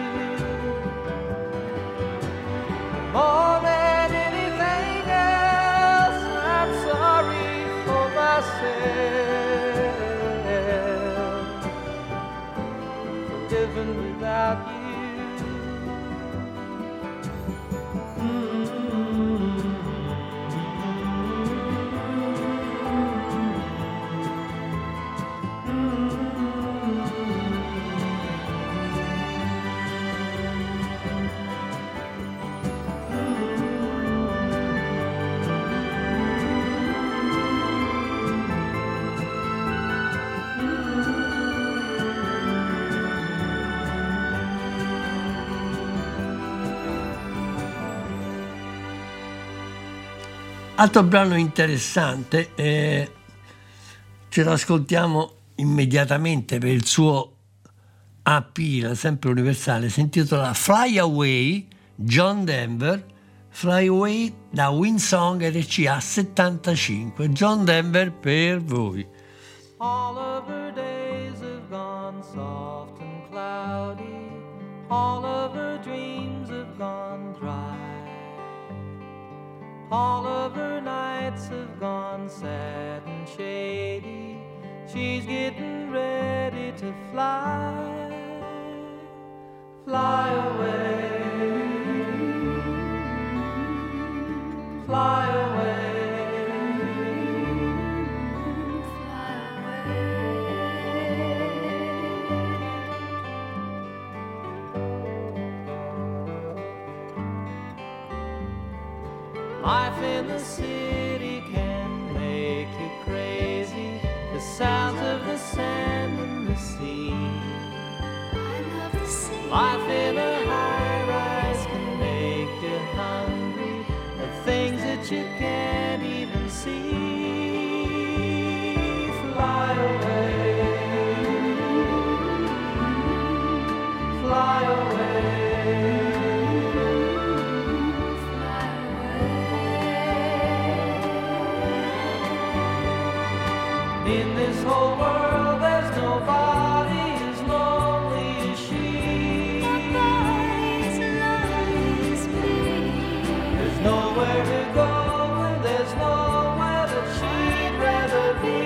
More than anything else, I'm sorry for myself, for living without you. Altro brano interessante, ce lo ascoltiamo immediatamente per il suo AP, sempre universale, si intitola Fly Away, John Denver, Fly Away da Windsong RCA 75, John Denver per voi. All of her days have gone soft and cloudy, all of her dreams have gone dry. All of her nights have gone sad and shady. She's getting ready to fly, fly away, fly away. Life in the city can make you crazy. The sounds of the sand and the sea. I love the sea. Life in a high-rise can make you hungry. The things that you can't even see. Fly away, fly away. In this whole world, there's nobody as lonely as she. Nobody's lonely as me. There's nowhere to go, and there's nowhere that she'd rather be.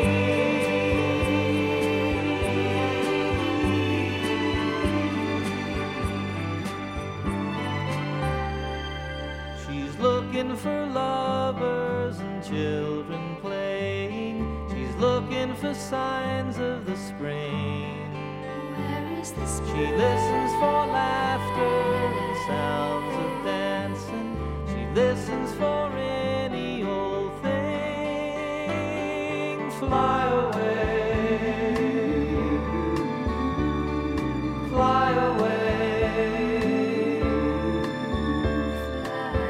She's looking for lovers and children playing. She's looking for signs of the spring. Where is the She spring? listens for laughter and sounds of dancing. She listens for any old thing. Fly away, fly away. Fly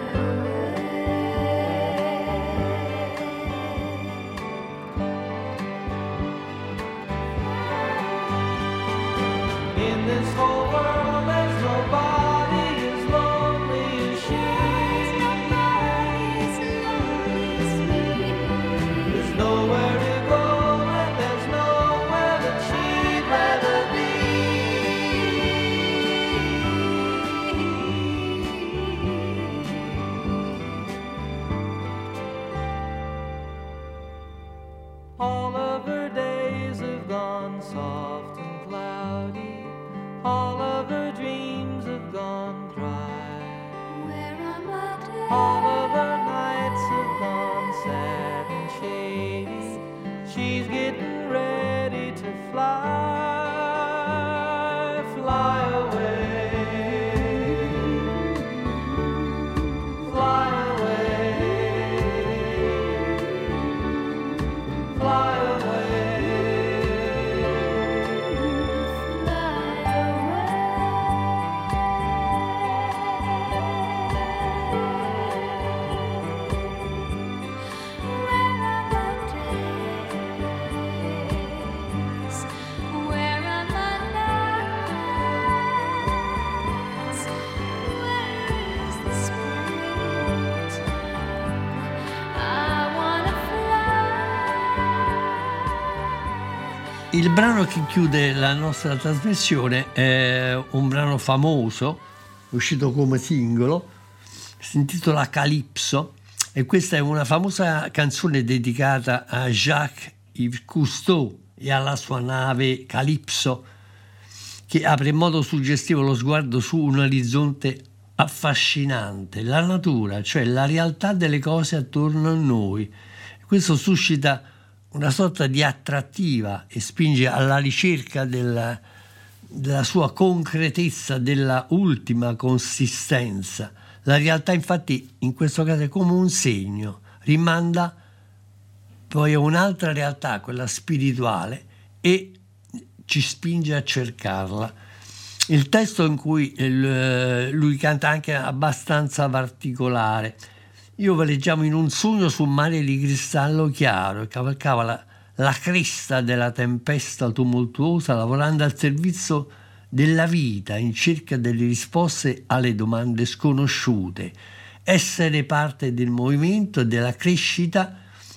Il brano che chiude la nostra trasmissione è un brano famoso, uscito come singolo, si intitola Calypso, e questa è una famosa canzone dedicata a Jacques-Yves Cousteau e alla sua nave Calypso, che apre in modo suggestivo lo sguardo su un orizzonte affascinante, la natura, cioè la realtà delle cose attorno a noi. Questo suscita una sorta di attrattiva e spinge alla ricerca della sua concretezza, della ultima consistenza. La realtà infatti in questo caso è come un segno, rimanda poi a un'altra realtà, quella spirituale, e ci spinge a cercarla. Il testo in cui lui canta anche abbastanza particolare. Io veleggiavo in un sogno su un mare di cristallo chiaro e cavalcava la cresta della tempesta tumultuosa, lavorando al servizio della vita in cerca delle risposte alle domande sconosciute. Essere parte del movimento e della crescita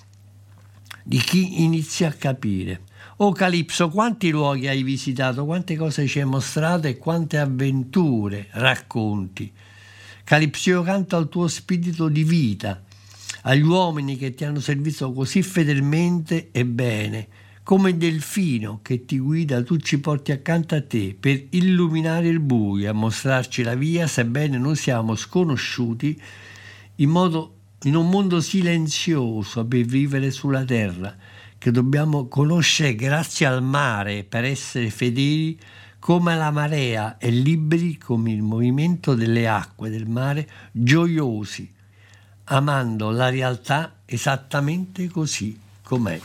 di chi inizia a capire. Oh Calypso, quanti luoghi hai visitato, quante cose ci hai mostrato e quante avventure racconti. Calypso, io canto al tuo spirito di vita, agli uomini che ti hanno servito così fedelmente e bene, come Delfino che ti guida, tu ci porti accanto a te per illuminare il buio, a mostrarci la via, sebbene noi siamo sconosciuti in un mondo silenzioso per vivere sulla terra, che dobbiamo conoscere grazie al mare per essere fedeli come la marea e liberi come il movimento delle acque del mare, gioiosi, amando la realtà esattamente così com'è.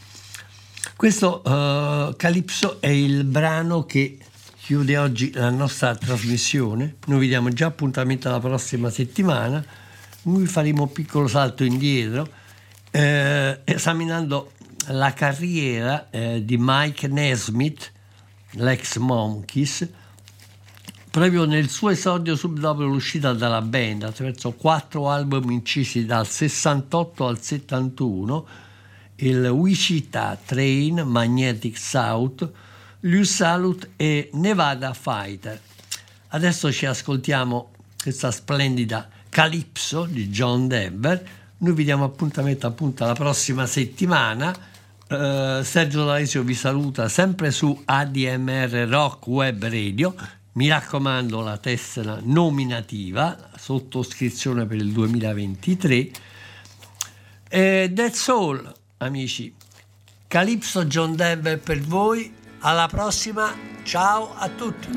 Questo Calypso è il brano che chiude oggi la nostra trasmissione. Noi vi diamo già appuntamento alla prossima settimana. Noi faremo un piccolo salto indietro esaminando la carriera di Mike Nesmith, l'ex Monkees, proprio nel suo esordio subito dopo l'uscita dalla band, attraverso 4 album incisi dal 68 al 71, il Wichita Train, Magnetic South, Lose Salute e Nevada Fighter. Adesso ci ascoltiamo questa splendida Calypso di John Denver. Noi vi diamo appuntamento appunto alla prossima settimana. Sergio D'Alessio vi saluta sempre su ADMR Rock Web Radio. Mi raccomando, la tessera nominativa, sottoscrizione per il 2023. E that's all, amici. Calypso, John Denver per voi. Alla prossima, ciao a tutti.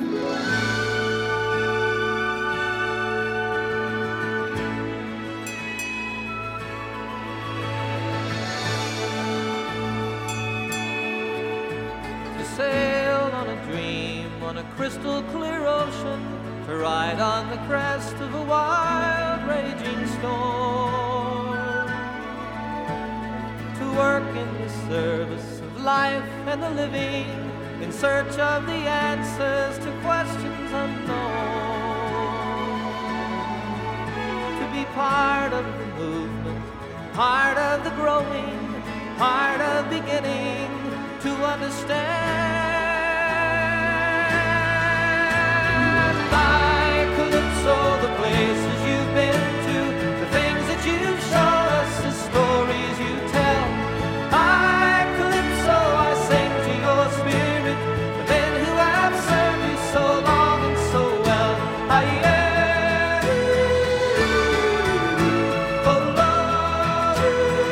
Sail on a dream on a crystal clear ocean, to ride on the crest of a wild raging storm, to work in the service of life and the living, in search of the answers to questions unknown, to be part of the movement, part of the growing, part of beginning, to understand. Like Calypso, the places you've been to, the things that you've shown us, the stories you tell. Like Calypso, I sing to your spirit, the men who have served you so long and so well. Oh Lord,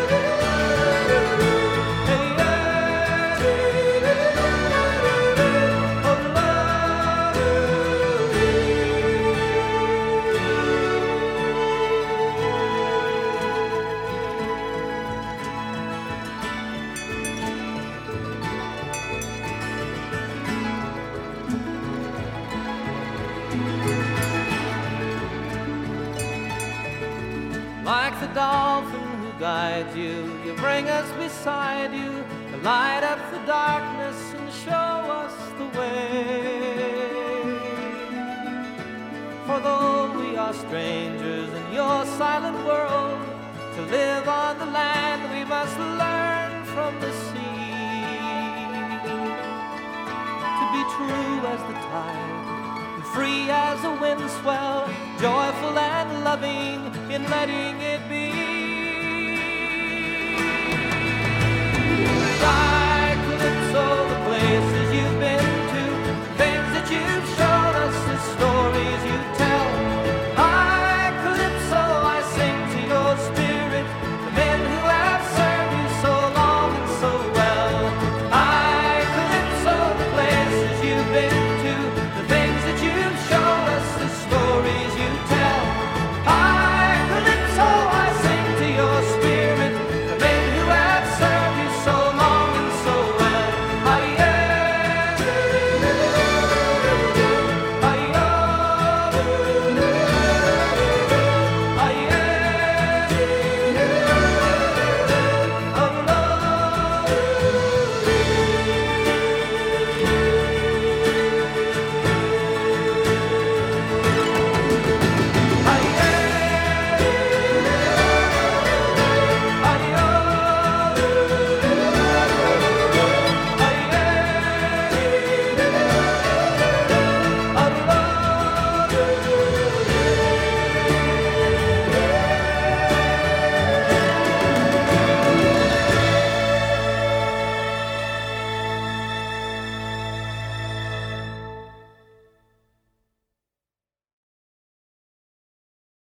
like the dolphin who guides you, you bring us beside you, to light up the darkness and show us the way. For though we are strangers in your silent world, to live on the land we must learn from the sea. true as the tide, and free as a wind swell, joyful and loving in letting it be.